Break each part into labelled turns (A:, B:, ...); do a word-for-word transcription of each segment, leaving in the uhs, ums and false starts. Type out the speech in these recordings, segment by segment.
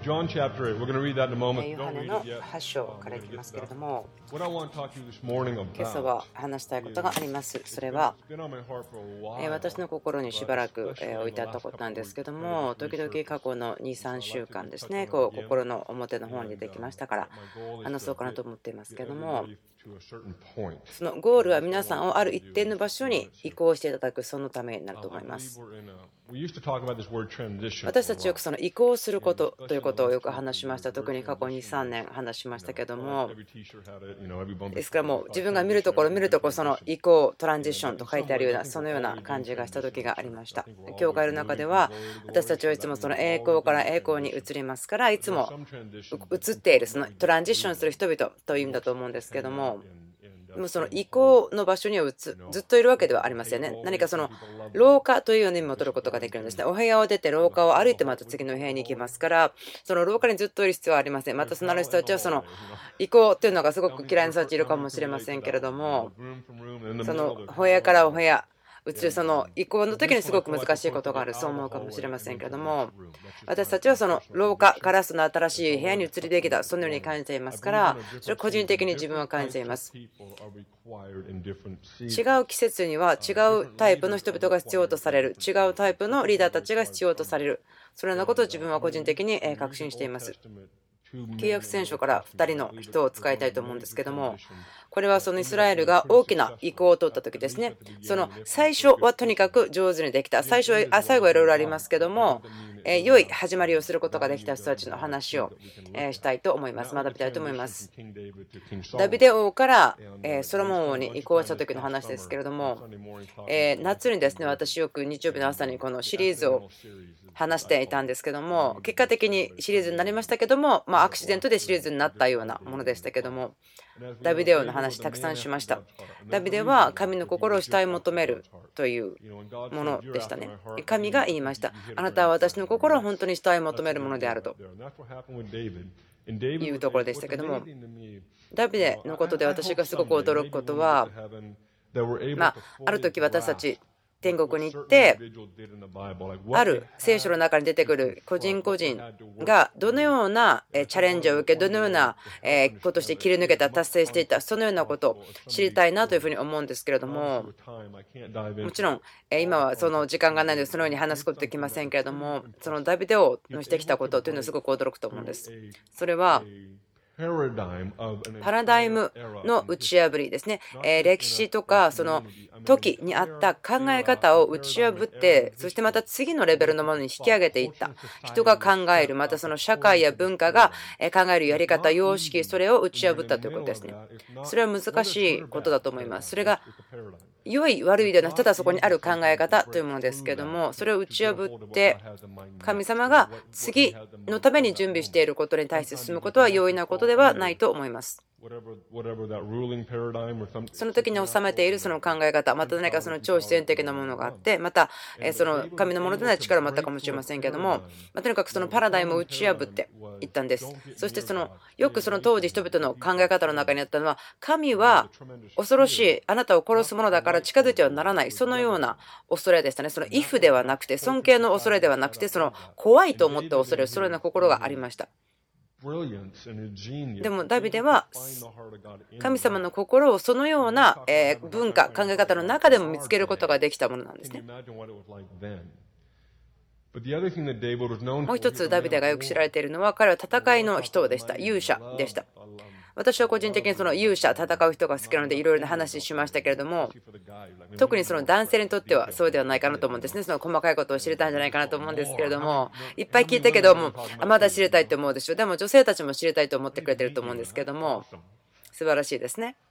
A: John chapter eight. We're going to read that in a moment.
B: ヨハ
A: Don't
B: ネ
A: read
B: の
A: it yet.
B: はち章からいきますけれども、
A: What I want to talk to you this morning
B: 今朝
A: about
B: は話したいことがあります。それは
A: has been on my heart for a
B: えー
A: while.
B: 私の心にしばらくえー置いてあったことなんですけども、時々過去のに、さんしゅうかんですね、こう心の表の方に出てきましたから話そうかなと思っていますけども、
A: To a certain point.
B: そのゴールは皆さんをある一定の場所に移行していただく、そのためになると思
A: I
B: いま
A: believe
B: す。
A: we're in a. We used to talk about this word transition.
B: 私たちよくその移行することということをよく話しました。特に過去に、さんねん話しましたけども、
A: Every T-shirt had it. You know, every bumper.
B: ですからもう自分が見るところ見るところその移行トランジションと書いてあるようなそのような感じがした時がありました。教会の中では私たちはいつもその栄光から栄光に移りますから、いつも移っているそのトランジションする人々という意味だと思うんですけども、でもその移行の場所にはずずっといるわけではありませんね。何かその廊下というような意味も取ることができるんですね。お部屋を出て廊下を歩いてまた次の部屋に行きますから、その廊下にずっといる必要はありません。またそのある人たちはその移行というのがすごく嫌いな人たちいるかもしれませんけれども、
A: Room from room in the
B: そ
A: middle
B: の
A: of the
B: 部屋からお部屋移るその移行の時にすごく難しいことがある、そう思うかもしれませんけれども、私たちはその廊下からその新しい部屋に移りできた、そのように感じていますから、それを個人的に自分は感じています。
A: people are required in different
B: 違
A: seasons.
B: う季節には違うタイプの人々が必要とされる、違うタイプのリーダーたちが必要とされる、そのようなことを自分は個人的にえー確信しています。 旧約聖書からふたりの人を使いたいと思うんですけども、これはそのイスラエルが大きな移行を取った時ですね。その最初はとにかく上手にできた、最初はあ最後はいろいろありますけども、えー良い始まりをすることができた人たちの話をえーしたいと思います。学びたいと思います。
A: King David to King
B: ダビ
A: Solomon.
B: デ王からえーソロモン王に移行した時の話ですけれども、
A: Sunday morning talk.
B: えー夏にですね、私よく日曜日の朝にこのシリーズを話していたんですけども、結果的にシリーズになりましたけども、まあ、アクシデントでシリーズになったようなものでしたけども、ダビデ王の話たくさんしました。ダビデは神の心を主体求めるというものでしたね。神が言いました。あなたは私の心を本当に主体求めるものであると
A: And that's what happened with David. And David
B: いう
A: was
B: ところでしたけども、
A: amazing to me.
B: ダビデのことで私がすごく驚くことは、
A: That we're able
B: ま
A: to
B: あ、ある
A: fully
B: 時私た
A: grasp
B: ち天国に行っ
A: what
B: て、
A: certain individuals did in the Bible. Like
B: あ
A: what
B: る聖書の中に出てくる個人個人がどのようなチャレンジを受け、どのようなことをして切り抜けた、達成していた、そのようなことを知りたいなというふうに思うんですけれども、
A: time I can't dive into.
B: もちろん今はその時間がないのでそのように話すことできませんけれども、そのダビデ王のしてきたことというのはすごく驚くと思うんです。それは
A: Paradigm of an
B: パラダイムの打ち破りですね。えー歴史とかその時にあった考え方を打ち破って、そしてまた次のレベルのものに引き上げていった。人が考える、またその社会や文化がえー考えるやり方、様式、それを打ち破ったということですね。それは難しいことだと思います。それが良い悪いではなく、ただそこにある考え方というものですけども、それを打ち破って神様が次のために準備していることに対して進むことは容易なことではないと思います。
A: whatever whatever that ruling paradigm or some
B: その時に収めているその考え方、また何かその超自然的なものがあって、またえーその神のものでない力もあったかもしれませんけれども、まあとにかくそのパラダイムを打ち破っていったんです。そしてそのよくその当時人々の考え方の中にあったのは、神は恐ろしい、あなたを殺すものだから近づいてはならない、そのような恐れでしたね。そのイフではなくて、尊敬の恐れではなくて、その怖いと思った恐れ、そのような心がありました。
A: brilliance and a genius.
B: でもダビデは
A: Find the heart of God in
B: 神様の心をそのようなえー文化、考え方の中でも見つけることができたものなんです
A: Can you
B: ね。
A: imagine what it was like then? But the other thing that David was known
B: もう
A: for,
B: 一
A: he
B: つ
A: was a
B: ダビ
A: man
B: デ
A: of
B: がよく知ら
A: war.
B: れているのは、彼は戦いの人でした。勇者でした。私は個人的にその勇者、戦う人が好きなのでいろいろな話しましたけれども、
A: For the guy, like,
B: 特にその男性にとってはそうではないかなと思うんですね。その細かいことを知りたいんじゃないかなと思うんですけれども、いっぱい聞いたけども、あまだ知りたいと思うでしょう。でも女性たちも知りたいと思ってくれてると思うんですけれども、素晴らしいですね。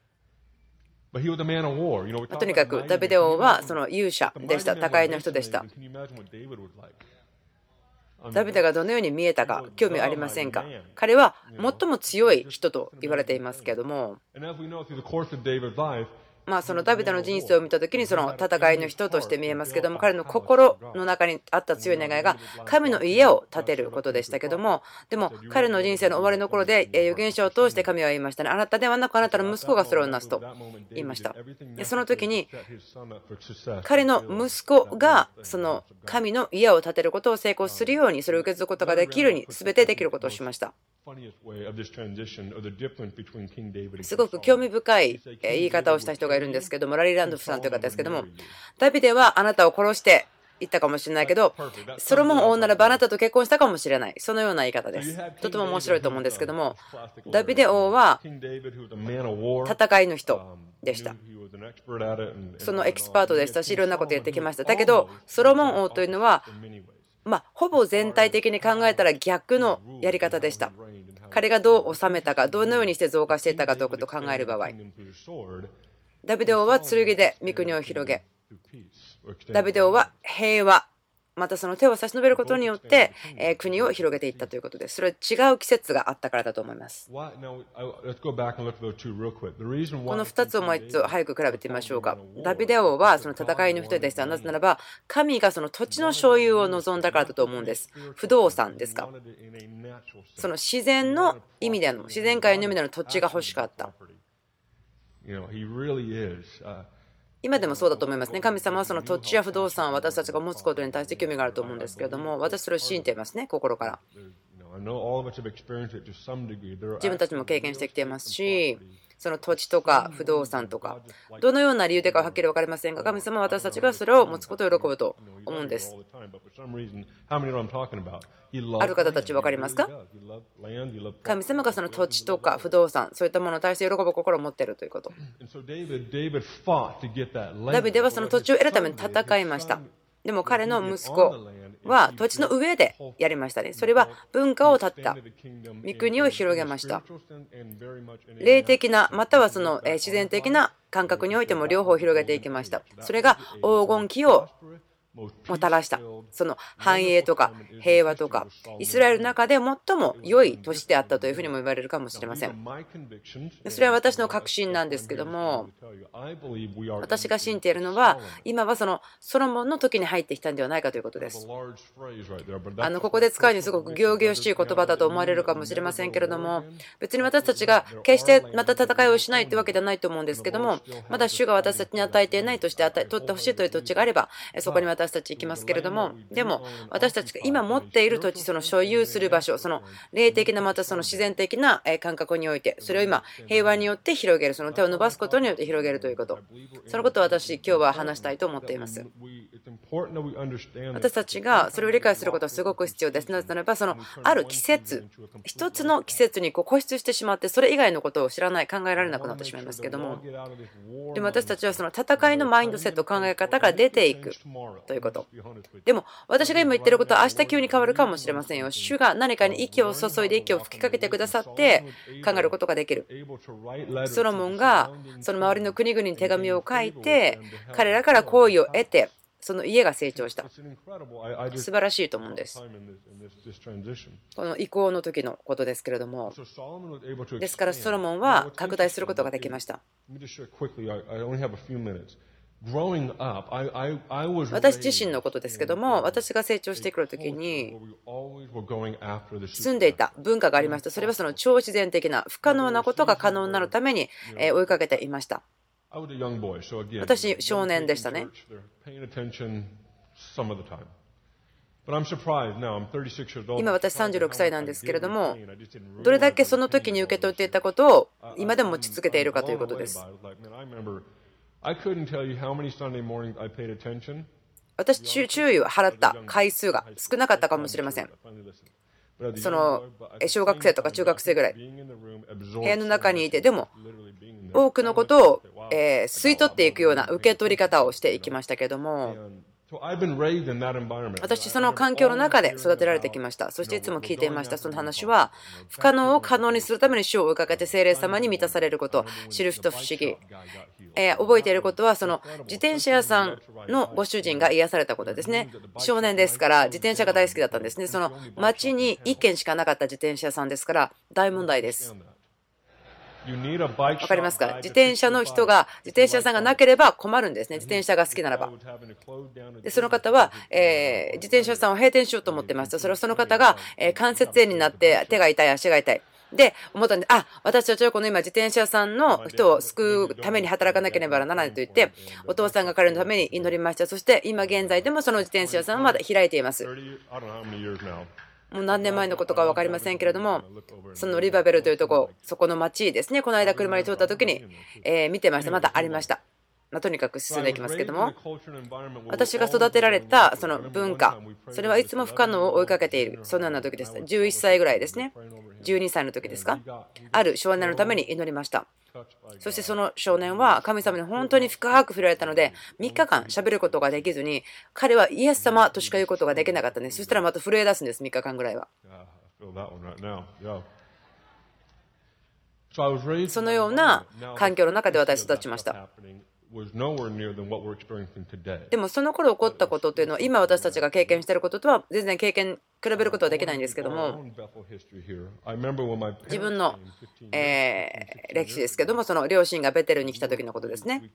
A: But he was a man of war. You know, we
B: まあ
A: talk
B: とに
A: about
B: かく
A: mighty
B: ダ
A: men.
B: ビデ王はその勇者でした。戦いの人でした。
A: Can you imagine what David was like?
B: ダビデがどのように見えたか興味ありませんか？彼は最も強い人と言われていますけれども、
A: And as we know through the course of David's life,
B: まあ、そのダビデの人生を見た時にその戦いの人として見えますけども、彼の心の中にあった強い願いが神の家を建てることでしたけども、でも彼の人生の終わりの頃で預言者を通して神は言いましたね。あなたではなくあなたの息子がそれをなすと言いました。でその時に彼の息子がその神の家を建てることを成功するように、それを受け継ぐことができるように全てできることをしました。すごく興味深い言い方をした人がいるんですけども、ラリー・ランドフさんという方ですけども、ダビデはあなたを殺して言ったかもしれないけど、ソロモン王ならばあなたと結婚したかもしれない、そのような言い方です。とても面白いと思うんですけども、ダビデ王は戦いの人でした。そのエキスパートでしたし、いろんなことやってきました。だけどソロモン王というのは、まあ、ほぼ全体的に考えたら逆のやり方でした。彼がどう治めたか、どのようにして増加していったかということを考える場合、ダビデ王は剣で御国を広げ、ダビデ王は平和、またその手を差し伸べることによって国を広げていったということです。それは違う季節があったからだと思います。このふたつをもう一度早く比べてみましょうか。ダビデ王はその戦いの人でした。なぜならば神がその土地の所有を望んだからだと思うんです。不動産ですか。その自然の意味での、自然界の意味での土地が欲しかった。今でもそうだと思いますね。神様はその土地や不動産を私たちが持つことに対して興味があると思うんですけれども、私それを信じていますね、心から。自分たちも経験してきていますし、その土地とか不動産とか、どのような理由でかはっきり分かりませんが、神様は私たちがそれを持つことを喜ぶと思うんです。ある方たち分かりますか？神様がその土地とか不動産、そういったものに対して喜ぶ心を持っているということ。ダビデはその土地を得るために戦いました。でも彼の息子は土地の上でやりましたね。それは文化を立った、御国を広げました。霊的なまたはその自然的な感覚においても両方広げていきました。それが黄金期をもたらした、その繁栄とか平和とか、イスラエルの中で最も良い都市であったというふうにも言われるかもしれません。それは私の確信なんですけども、私が信じているのは、今はそのソロモンの時に入ってきたんではないかということです。あのここで使うにすごく仰々しい言葉だと思われるかもしれませんけれども、別に私たちが決してまた戦いをしないというわけではないと思うんですけども、まだ主が私たちに与えていないとして与え取ってほしいという土地があれば、そこに私たち行きますけれども、でも私たちが今持っている土地、その所有する場所、その霊的なまたその自然的な感覚において、それを今平和によって広げる、その手を伸ばすことによって広げるということ、そのことを私今日は話したいと思っています。私たちがそれを理解することはすごく必要です。なぜならばそのある季節、一つの季節にこう固執してしまって、それ以外のことを知らない、考えられなくなってしまいますけども、でも私たちはその戦いのマインドセット、考え方から出ていくということ。でも私が今言ってることは明日急に変わるかもしれませんよ。主が何かに息を注いで息を吹きかけてくださって考えることができる。ソロモンがその周りの国々に手紙を書いて、彼らから好意を得て、その家が成長した。素晴らしいと思うんです。この移行の時のことですけれども、ですからソロモンは拡大することができました。私自身のことですけども、私が成長してくるときに住んでいた文化がありました。それはその超自然的な不可能なことが可能になるために追いかけていました。私少年でしたね。今私さんじゅうろくさいなんですけれども、どれだけその時に受け取っていたことを今でも持ち続けているかということです。私、注意を払った回数が少なかったかもしれません。その小学生とか中学生ぐらい部屋の中にいて、でも多くのことを吸い取っていくような受け取り方をしていきましたけれども、私その環境の中で育てられてきました。そしていつも聞いていました。その話は不可能を可能にするために主を追いかけて聖霊様に満たされること、知る人不思議、えー、覚えていることは、その自転車屋さんのご主人が癒されたことですね。少年ですから自転車が大好きだったんですね。その町にいっけんしかなかった自転車屋さんですから大問題です。 わかりますか？自転車の人が、自転車屋さんがなければ困るんですね、自転車が好きならば。でその方は、えー、自転車屋さんを閉店しようと思ってました。それはその方が、えー、関節炎になって手が痛い、足が痛い。で思ったんで、あ、私たちはこの今自転車屋さんの人を救うために働かなければならないと言って、お父さんが彼のために祈りました。そして今現在でもその自転車屋さんはまだ開いています。もう何年前のことか分かりませんけれども、そのリバベルというところ、そこの町ですね、この間車に通った時に、えー、見てました。まだありました。まあ、とにかく進んでいきますけども、私が育てられたその文化、それはいつも不可能を追いかけている、そのような時です。じゅういっさいぐらいですね、じゅうにさいの時ですか、ある少年のために祈りました。そしてその少年は神様に本当に深く触れられたので、みっかかん喋ることができずに、彼はイエス様としか言うことができなかったんです。そしたらまた震え出すんです、みっかかんぐらいは。そのような環境の中で私育ちました。でもその頃起こったことというのは、今私たちが経験していることとは全然経験比べることはできないんですけども、自分の、えー、歴史ですけども、その両親がベテルに来た時のことですね。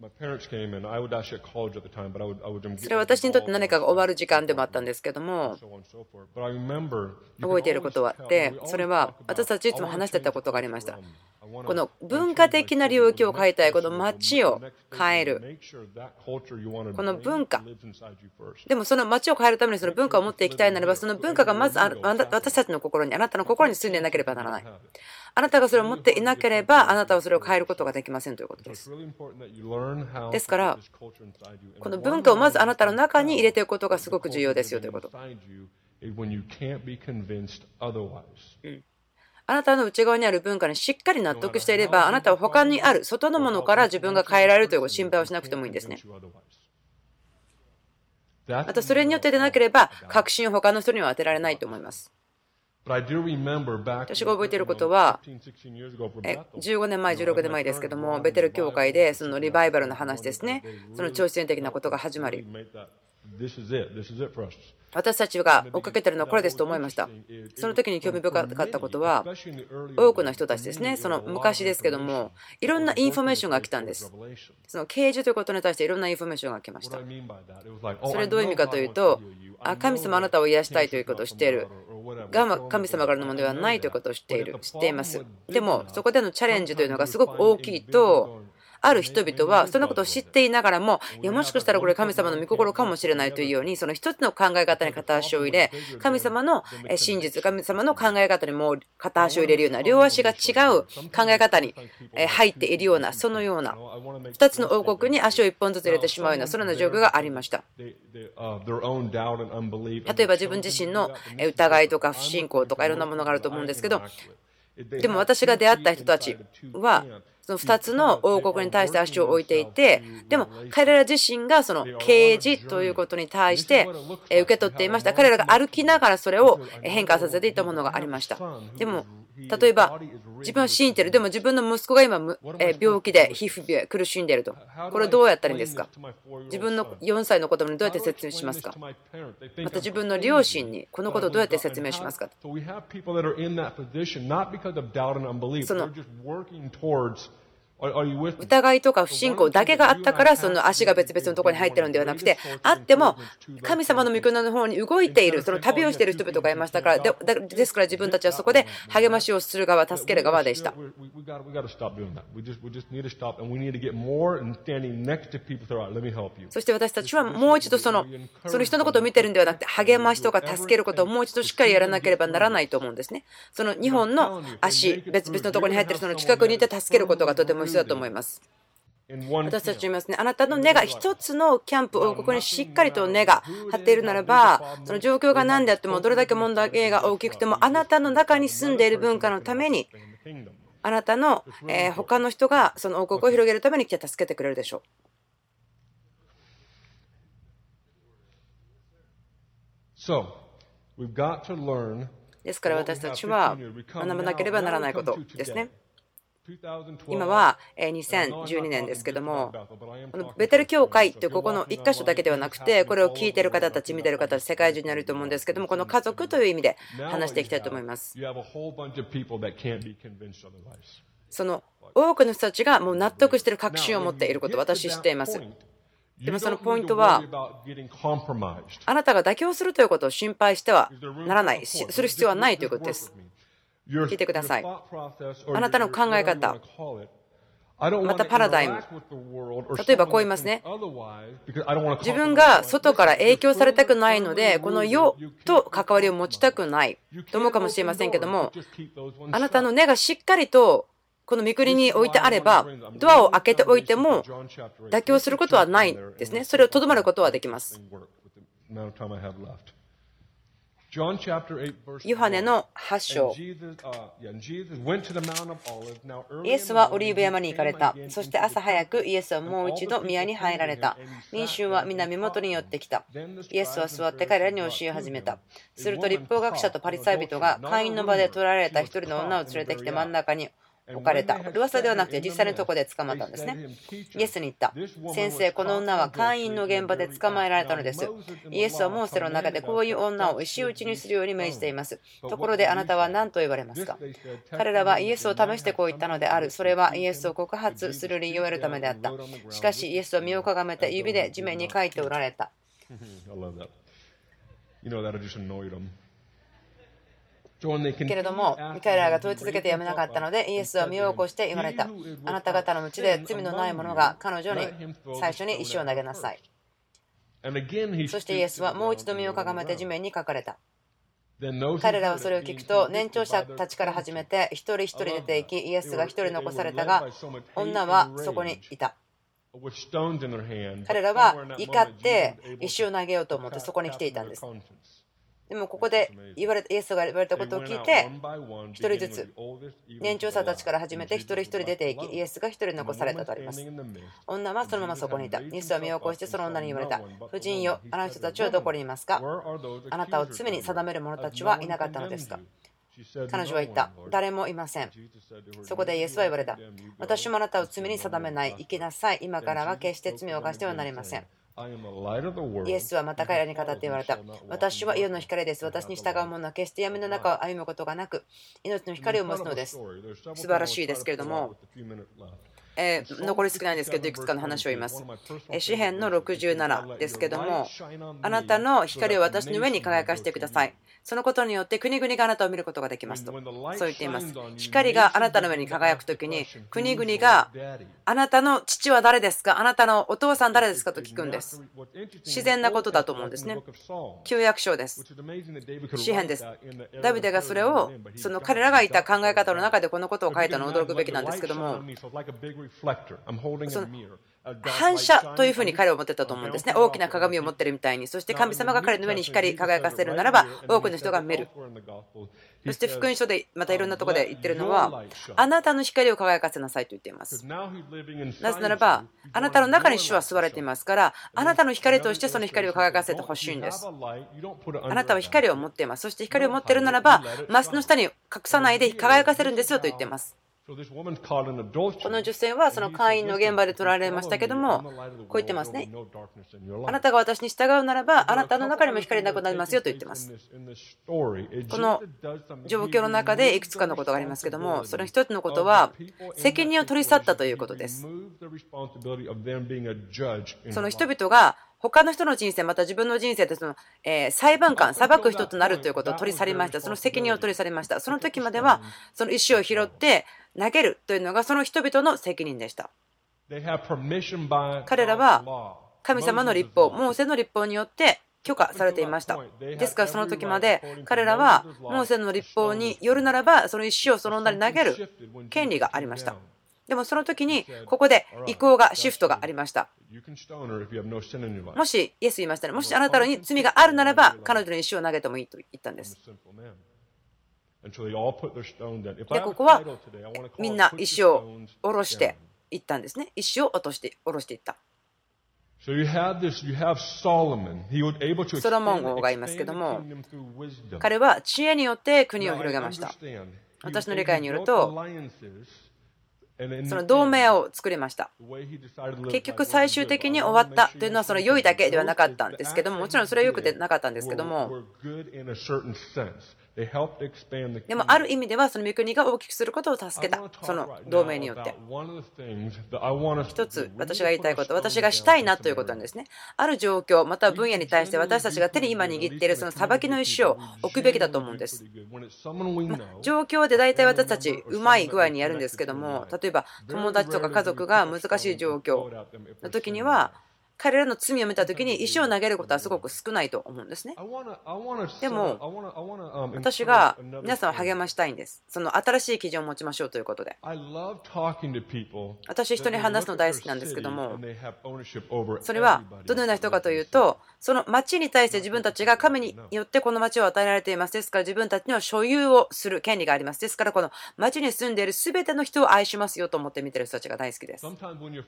B: それは私にとって何かが終わる時間でもあったんですけども、覚えていることはあって、それは私たちいつも話してたことがありました。この文化的な領域を変えたい、この街を変える、この文化、でもその街を変えるためにその文化を持っていきたいならば、その文化がまず私たちの心に、あなたの心に住んでいなければならない。あなたがそれを持っていなければ、あなたはそれを変えることができませんということです。ですから、この文化をまずあなたの中に入れていくことがすごく重要ですよということ。うんあなたの内側にある文化にしっかり納得していれば、あなたは他にある外のものから自分が変えられるという心配をしなくてもいいんですね。またそれによってでなければ、確信を他の人には当てられないと思います。私が覚えていることは、じゅうごねんまえ、じゅうろくねんまえですけども、ベテル教会でそのリバイバルの話ですね、その超自然的なことが始まり、私たちが追っかけているのはこれですと思いました。その時に興味深かったことは、多くの人たちですね、その昔ですけども、いろんなインフォメーションが来たんです。その啓示ということに対していろんなインフォメーションが来ました。それはどういう意味かというと、あ神様あなたを癒したいということを知っている。が神様からのものではないということを知っている、知っています。でも、そこでのチャレンジというのがすごく大きいと、ある人々はそのことを知っていながらも、いやもしかしたらこれ神様の御心かもしれないというように、その一つの考え方に片足を入れ、神様の真実、神様の考え方にも片足を入れるような、両足が違う考え方に入っているような、そのようなふたつの王国に足をいっぽんずつ入れてしまうような、そのような状況がありました。例えば自分自身の疑いとか不信仰とかいろんなものがあると思うんですけど、でも私が出会った人たちはそのふたつの王国に対して足を置いていて、でも彼ら自身がその啓示ということに対して受け取っていました。彼らが歩きながらそれを変化させていったものがありました。でも例えば自分は信じている、でも自分の息子が今病気で皮膚病で苦しんでいると、これどうやったらいいんですか。自分のよんさいの子供にどうやって説明しますか。また自分の両親にこのことをどうやって説明しますか。その疑いとか不信仰だけがあったからその足が別々のところに入っているのではなくて、あっても神様の御国の方に動いている、その旅をしている人々がいましたから、でですから自分たちはそこで励ましをする側、助ける側でした。そして私たちはもう一度そのその人のことを見ているのではなくて、励ましとか助けることをもう一度しっかりやらなければならないと思うんですね。そのにほんの足、別々のところに入っているその近くにいて助けることがとても必要だと思います。私たち言いますね、あなたの根が一つのキャンプ王国にしっかりと根が張っているならば、その状況が何であってもどれだけ問題が大きくても、あなたの中に住んでいる文化のために、あなたの、えー、他の人がその王国を広げるために来て助けてくれるでしょう。ですから私たちは学ばなければならないことですね。今はにせんじゅうにねんですけども、このベテル教会というここのいっ箇所だけではなくて、これを聞いている方たち、見ている方たち、世界中にあると思うんですけども、この家族という意味で話していきたいと思います。 その多くの人たちがもう納得している確信を持っていることを私知っています。でもそのポイントは、あなたが妥協するということを心配してはならない、する必要はないということです。聞いてください。あなたの考え方、またパラダイム。例えばこう言いますね。自分が外から影響されたくないので、この世と関わりを持ちたくないと思うかもしれませんけども、あなたの根がしっかりとこの御国に置いてあれば、ドアを開けておいても妥協することはないですね。それをとどまることはできます。ヨハネのはち章。イエスはオリーブ山に行かれた。そして朝早くイエスはもう一度宮に入られた。民衆は皆身元に寄ってきた。イエスは座って彼らに教え始めた。すると立法学者とパリサイ人が会員の場で捕らえられた一人の女を連れてきて真ん中に置かれた。噂ではなくて実際のところで捕まったんですね。イエスに言った。先生、この女は会員の現場で捕まえられたのです。イエスはモーセの中でこういう女を石打ちにするように命じています。ところであなたは何と言われますか？彼らはイエスを試してこう言ったのである。それはイエスを告発する理由を得るためであった。しかしイエスは身をかがめて指で地面に書いておられた。けれども、彼らが問い続けてやめなかったので、イエスは身を起こして言われた。あなた方のうちで罪のない者が彼女に最初に石を投げなさい。そしてイエスはもう一度身をかがめて地面に書かれた。彼らはそれを聞くと、年長者たちから始めて、一人一人出て行き、イエスが一人残されたが、女はそこにいた。彼らは怒って石を投げようと思ってそこに来ていたんです。でもここで言われイエスが言われたことを聞いて、一人ずつ年長者たちから始めて一人一人出ていき、イエスが一人残されたとあります。女はそのままそこにいた。イエスは身を起こしてその女に言われた。婦人よ、あの人たちはどこにいますか？あなたを罪に定める者たちはいなかったのですか？彼女は言った。誰もいません。そこでイエスは言われた。私もあなたを罪に定めない。生きなさい。今からは決して罪を犯してはなりません。イエスはまた彼らに語って言われた。私は世の光です。私に従う者は決して闇の中を歩むことがなく、命の光を持つのです。素晴らしいですけれども、えー、残り少ないんですけど、いくつかの話を言います。詩編のろくじゅうななですけども、あなたの光を私の上に輝かせてください。そのことによって国々があなたを見ることができますと、そう言っています。光があなたの上に輝くときに、国々があなたの父は誰ですか、あなたのお父さん誰ですかと聞くんです。自然なことだと思うんですね。旧約書です。詩編です。ダビデがそれを、その彼らがいた考え方の中でこのことを書いたのは驚くべきなんですけども、その反射というふうに彼は思ってたと思うんですね。大きな鏡を持っているみたいに。そして神様が彼の上に光り輝かせるならば多くの人が見る。そして福音書でまたいろんなところで言ってるのは、あなたの光を輝かせなさいと言っています。なぜならばあなたの中に主は座れていますから、あなたの光としてその光を輝かせてほしいんです。あなたは光を持っています。そして光を持っているならばマスの下に隠さないで輝かせるんですよと言っています。この女性はその会員の現場で取られましたけども、こう言ってますね。あなたが私に従うならばあなたの中にも光なくなりますよと言ってます。この状況の中でいくつかのことがありますけども、その一つのことは責任を取り去ったということです。その人々が他の人の人生、また自分の人生でその、えー、裁判官、裁く人となるということを取り去りました。その責任を取り去りました。その時まではその石を拾って投げるというのがその人々の責任でした。彼らは神様の律法、モーセの律法によって許可されていました。ですからその時まで彼らはモーセの律法によるならばその石をその女に投げる権利がありました。でもその時にここで意向がシフトがありました。もしイエス言いましたね。もしあなたに罪があるならば彼女に石を投げてもいいと言ったんです。でここはみんな石を下ろしていったんですね。石を落として下ろしていった。ソロモン王がいますけども、彼は知恵によって国を広げました。私の理解によるとその同盟を作りました。結局最終的に終わったというのはその良いだけではなかったんですけども、もちろんそれは良くてなかったんですけども、 でもある意味ではその御国が大きくすることを助けた、その同盟によって。一つ私が言いたいこと、私がしたいなということなんですね。ある状況または分野に対して私たちが手に今握っているその裁きの石を置くべきだと思うんです。ま状況で大体私たちうまい具合にやるんですけども、例えば友達とか家族が難しい状況の時には彼らの罪を見たときに石を投げることはすごく少ないと思うんですね。でも私が皆さんを励ましたいんです。その新しい基準を持ちましょうということで。私人に話すの大好きなんですけども、それはどのような人かというと、その町に対して自分たちが神によってこの町を与えられています。ですから自分たちには所有をする権利があります。ですからこの町に住んでいる全ての人を愛しますよと思って見ている人たちが大好きです。時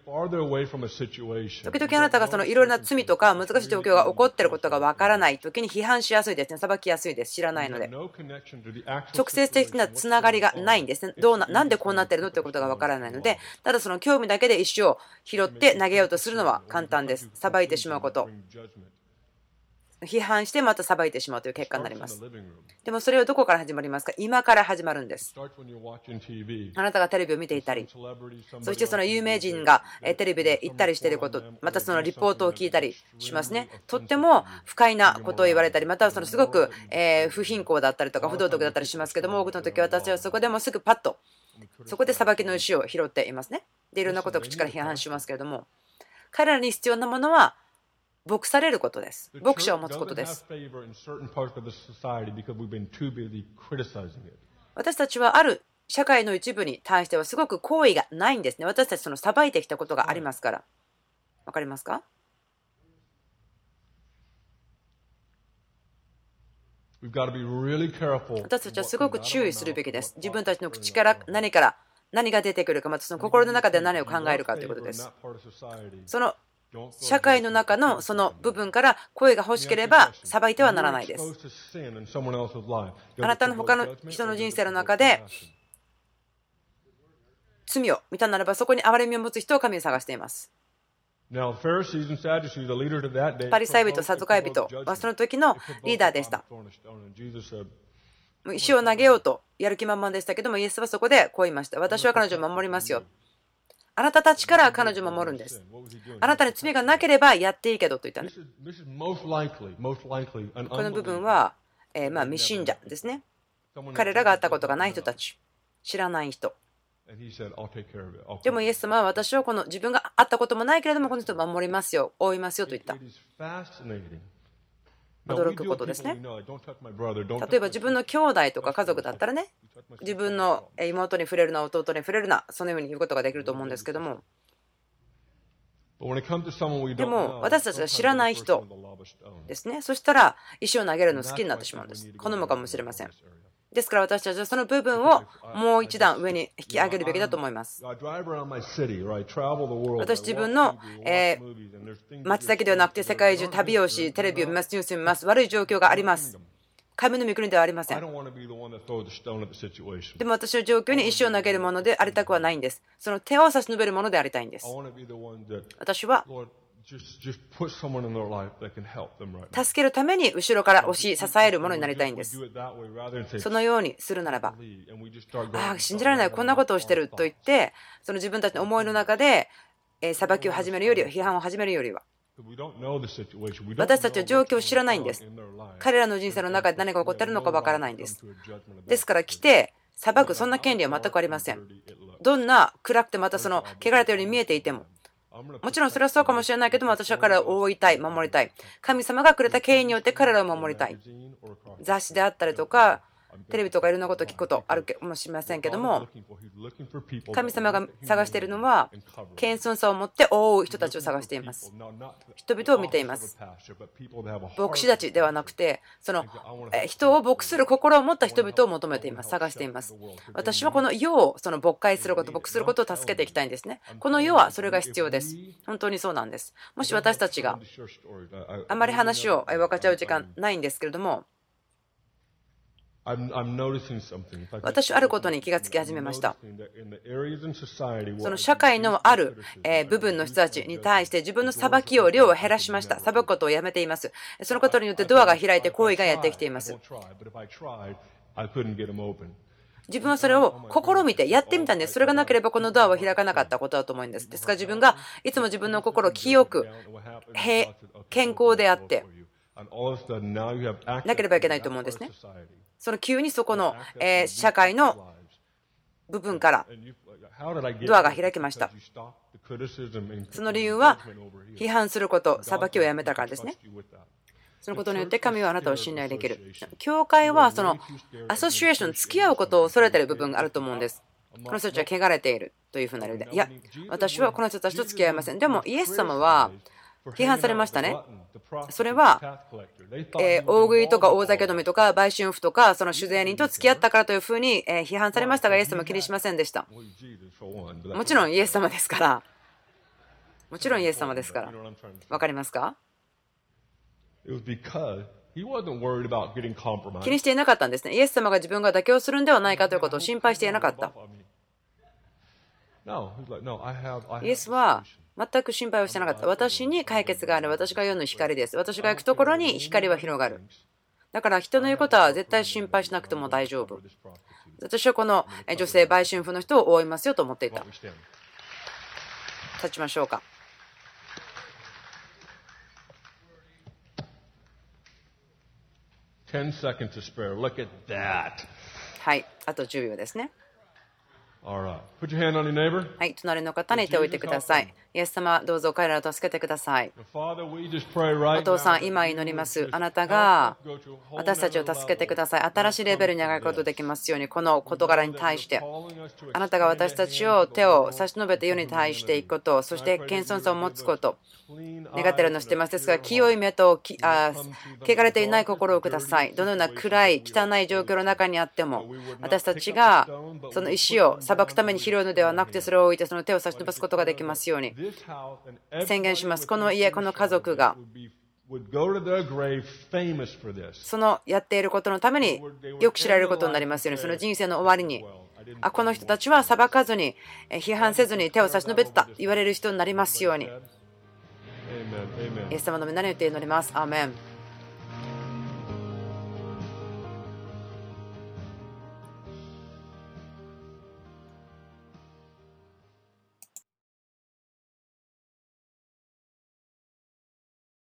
B: 々あなたがそのいろいろな罪とか難しい状況が起こっていることがわからないときに批判しやすいですね。裁きやすいです。知らないので。直接的なつながりがないんですね。どうな、なんでこうなってるのということがわからないので、ただその興味だけで石を拾って投げようとするのは簡単です。裁いてしまうこと。批判してまた裁いてしまうという結果になります。でもそれはどこから始まりますか？今から始まるんです。あなたがテレビを見ていたり、そしてその有名人がテレビで言ったりしていること、またそのリポートを聞いたりしますね。とっても不快なことを言われたり、またはそのすごく不貧困だったりとか不道徳だったりしますけども、多くの時私はそこでもすぐパッとそこで裁きの石を拾っていますね。で、いろんなことを口から批判しますけれども、彼らに必要なものは牧されることです。牧者を持つことです。私たちはある社会の一部に対してはすごく好意がないんですね。私たちその裁いてきたことがありますから。わかりますか？私たちはすごく注意するべきです。自分たちの口から何から何が出てくるか、またその心の中で何を考えるかということです。その社会の中のその部分から声が欲しければ裁いてはならないです。あなたの他の人の人生の中で罪を見たならばそこに憐れみを持つ人を神に探しています。パリサイ人、サドカイ人はその時のリーダーでした。石を投げようとやる気満々でしたけども、イエスはそこでこう言いました。私は彼女を守りますよ。あなたたちから彼女を守るんです。あなたに罪がなければやっていいけどと言ったね。この部分は、えー、まあ未信者ですね。彼らが会ったことがない人たち、知らない人。でもイエス様は私はこの自分が会ったこともないけれどもこの人を守りますよ、覆いますよと言った。驚くことですね。例えば自分の兄弟とか家族だったらね、自分の妹に触れるな、弟に触れるな、そのように言うことができると思うんですけども、でも私たちが知らない人ですね、そしたら石を投げるのを好きになってしまうんです。好むかもしれません。ですから私たちはその部分をもう一段上に引き上げるべきだと思います。私自分の、えー、町だけではなくて世界中旅をし、テレビを見ます、ニュースを見ます。悪い状況があります。神の御国ではありません。でも私の状況に石を投げるものでありたくはないんです。その手を差し伸べるものでありたいんです。私は助けるために後ろから押し支えるものになりたいんです。そのようにするならば、ああ信じられない、こんなことをしてると言ってその自分たちの思いの中で裁きを始めるよりは、批判を始めるよりは、私たちは状況を知らないんです。彼らの人生の中で何が起こっているのかわからないんです。ですから来て裁くそんな権利は全くありません。どんな暗くてまたその汚れたように見えていても、もちろんそれはそうかもしれないけども、私は彼らを覆いたい、守りたい。神様がくれた権威によって彼らを守りたい。雑誌であったりとかテレビとかいろんなことを聞くことあるかもしれませんけども、神様が探しているのは謙遜さを持って覆う人たちを探しています。人々を見ています。牧師たちではなくて、その人を牧する心を持った人々を求めています。探しています。私はこの世をその牧会すること、牧することを助けていきたいんですね。この世はそれが必要です。本当にそうなんです。もし私たちがあまり話を分かっちゃう時間ないんですけれども、私はあることに気がつき始めました。その社会のある部分の人たちに対して自分の裁きを量を減らしました。裁くことをやめています。そのことによってドアが開いて行為がやってきています。 自分はそれを試みてやってみたんです。それがなければこのドアは開かなかったことだと思うんです。ですから自分がいつも自分の心を清く健康であってなければいけないと思うんですね。その急にそこの社会の部分からドアが開きました。その理由は批判すること、裁きをやめたからですね。そのことによって神はあなたを信頼できる。教会はそのアソシエーション、付き合うことを恐れている部分があると思うんです。この人たちは汚れているというふうな理由で、いや、私はこの人たちと付き合いません。でもイエス様は批判されましたね。それは、えー、大食いとか大酒飲みとか売春婦とかその酒税人と付き合ったからというふうに、えー、批判されましたが、イエス様は気にしませんでした。もちろんイエス様ですから。もちろんイエス様ですから。わかりますか？気にしていなかったんですね。イエス様が自分が妥協するんではないかということを心配していなかった。イエスは全く心配をしてなかった。私に解決がある。私が世の光です。私が行くところに光は広がる。だから人の言うことは絶対心配しなくても大丈夫。私はこの女性売春婦の人を覆いますよと思っていた。立ちましょうか。はい、あとじゅうびょうですね。はい、隣の方に手を置いてください。イエス様、どうぞ彼らを助けてください。お父さん、今祈ります。あなたが私たちを助けてください。新しいレベルに上がることができますように、この事柄に対して、あなたが私たちを手を差し伸べて世に対していくこと、そして謙遜さを持つこと、願っているのを知っています。ですが、清い目ときあ汚れていない心をください。どのような暗い、汚い状況の中にあっても、私たちがその石を裁くために拾うのではなくて、それを置いてその手を差し伸ばすことができますように宣言します。この家、この家族がそのやっていることのためによく知られることになりますように、その人生の終わりに、あ、この人たちは裁かずに批判せずに手を差し伸べてた言われる人になりますように。イエス様の皆によって祈ります。アーメン。